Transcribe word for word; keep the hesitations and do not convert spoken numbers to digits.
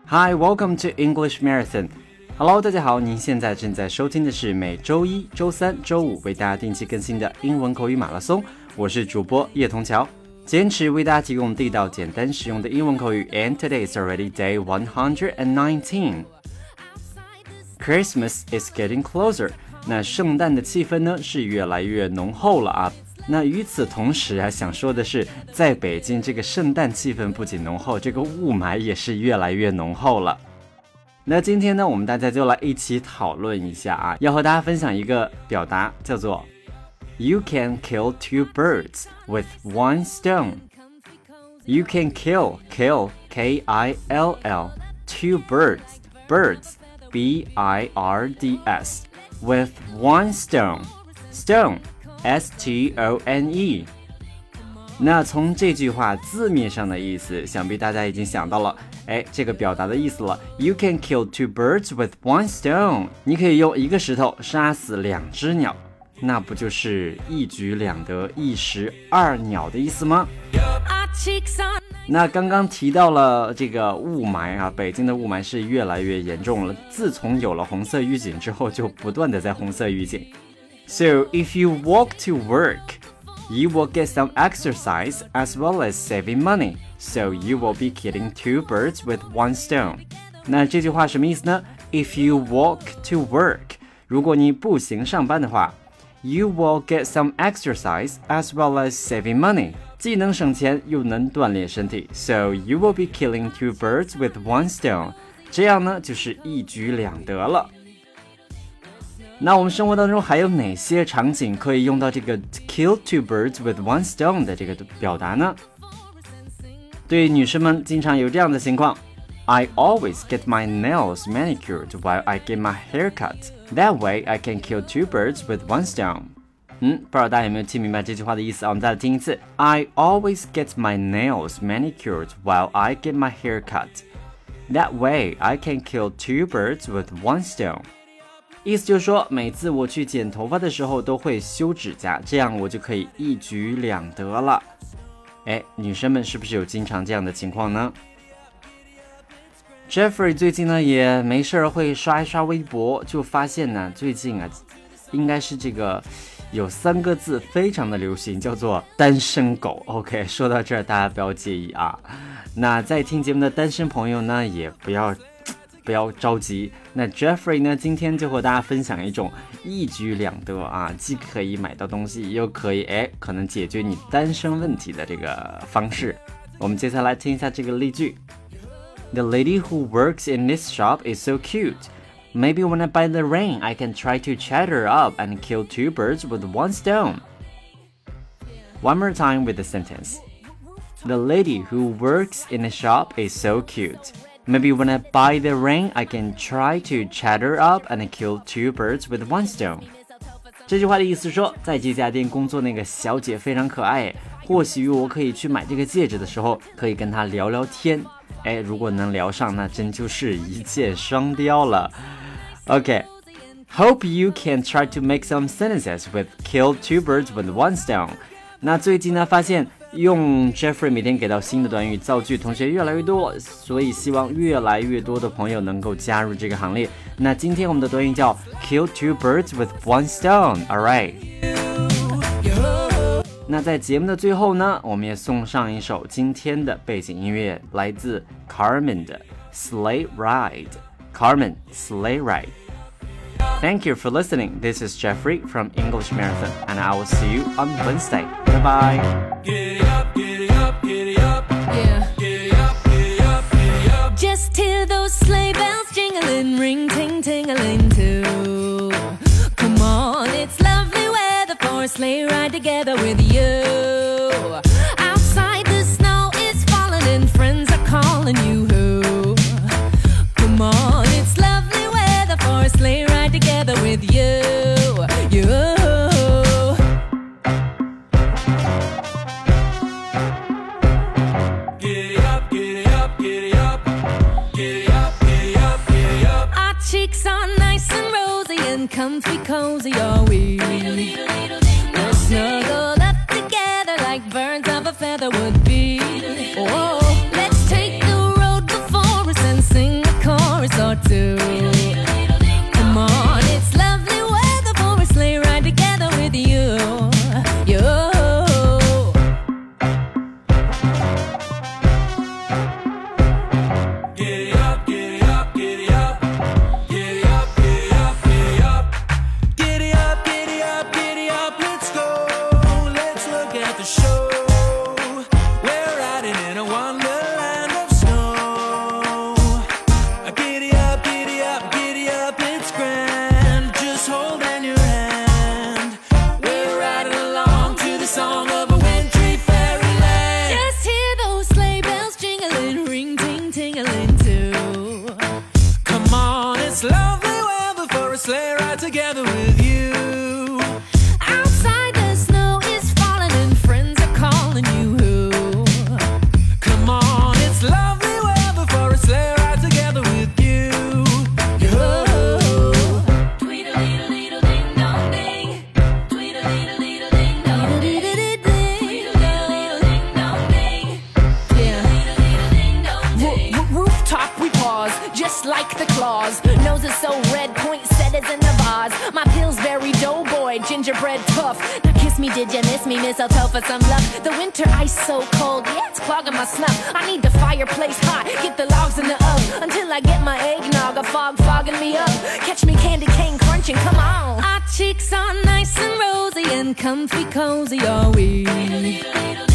Hi, welcome to English Marathon. Hello, 大家好，您现在正在收听的是每周一、周三、周五为大家定期更新的英文口语马拉松。我是主播叶童桥，坚持为大家提供地道、简单、实用的英文口语。And today is already day one hundred nineteen. Christmas is getting closer. 那圣诞的气氛呢是越来越浓厚了啊。那与此同时啊，想说的是，在北京这个圣诞气氛不仅浓厚，这个雾霾也是越来越浓厚了。那今天呢，我们大家就来一起讨论一下啊，要和大家分享一个表达，叫做 You can kill two birds with one stone. You can kill, kill, K I L L, two birds, birds, B I R D S, with one stone, stone, S T O N E。 那从这句话字面上的意思，想必大家已经想到了，哎，这个表达的意思了。You can kill two birds with one stone. 你可以用一个石头杀死两只鸟，那不就是一举两得、一石二鸟的意思吗？那刚刚提到了这个雾霾啊，北京的雾霾是越来越严重了。自从有了红色预警之后，就不断的在红色预警。So if you walk to work, you will get some exercise as well as saving money. So you will be killing two birds with one stone. 那这句话什么意思呢？ If you walk to work, 如果你步行上班的话， you will get some exercise as well as saving money. 既能省钱又能锻炼身体。 So you will be killing two birds with one stone. 这样呢就是一举两得了。那我们生活当中还有哪些场景可以用到这个 kill two birds with one stone 的这个表达呢？对女生们经常有这样的情况， I always get my nails manicured while I get my hair cut. That way I can kill two birds with one stone. 嗯，不知道大家有没有听明白这句话的意思啊？我们再来听一次。 I always get my nails manicured while I get my hair cut. That way I can kill two birds with one stone.意思就是说，每次我去剪头发的时候都会修指甲，这样我就可以一举两得了。哎，女生们是不是有经常这样的情况呢？ Jeffrey 最近呢也没事会刷一刷微博，就发现呢最近啊，应该是这个有三个字非常的流行，叫做单身狗。 OK， 说到这儿大家不要介意啊。那在听节目的单身朋友呢也不要不要着急，那 Jeffrey 呢今天就和大家分享一种一举两得啊，既可以买到东西，又可以哎可能解决你单身问题的这个方式。我们接下来听一下这个例句。 The lady who works in this shop is so cute. Maybe when I buy the ring, I can try to chat her up and kill two birds with one stone. One more time with the sentence. The lady who works in the shop is so cute.Maybe when I buy the ring, I can try to chat her up and kill two birds with one stone. 这句话的意思是说，在这家店工作那个小姐非常可爱，或许我可以去买这个戒指的时候，可以跟她聊聊天。哎，如果能聊上，那真就是一箭双雕了。Okay, hope you can try to make some sentences with kill two birds with one stone. 那最近呢，发现用 Jeffrey 每天给到新的短语造句同学越来越多，所以希望越来越多的朋友能够加入这个行列。那今天我们的短语叫 kill two birds with one stone. Alright. 那在节目的最后呢，我们也送上一首今天的背景音乐，来自 Carmen 的 Sleigh Ride. Carmen, Sleigh Ride. Thank you for listening. This is Jeffrey from English Marathon, and I will see you on Wednesday. Bye-bye. Giddy up, giddy up, giddy up. Yeah. Giddy up, giddy up, giddy up. Just hear those sleigh bells jingling, ring, ting, ting-a-ling too. Come on, it's lovely weather for a sleigh ride together with you. Outside the snow is falling and friends are calling you. Come on, it's lovely weather for a sleigh ride together with you. You. Giddy up, giddy up, giddy up. Giddy up, giddy up, giddy up. Our cheeks are nice and rosy and comfy cozy are we. We're snuggled up together like birds of a feather would be. Oh, let's take the road before us and sing together with you. Outside the snow is falling and friends are calling you. Come on, it's lovely weather for a sleigh ride together with you. Yo. Tweedle-dee-dee-dee-ding-dong-ding. Tweedle-dee-dee-dee-ding-dong-ding. Tweedle-dee-dee-ding-dong-ding. Yeah. Rooftop we pause, just like the claws. Nose is so red, poinsettias in the vase. My Pillsbury doughboy, gingerbread puff. Now kiss me, did you miss me? Mistletoe for some luck. The winter ice so cold, yeah, it's clogging my snuff. I need the fireplace hot, get the logs in the oven until I get my eggnog, a fog fogging me up. Catch me candy cane crunching, come on. Our cheeks are nice and rosy and comfy cozy, are we?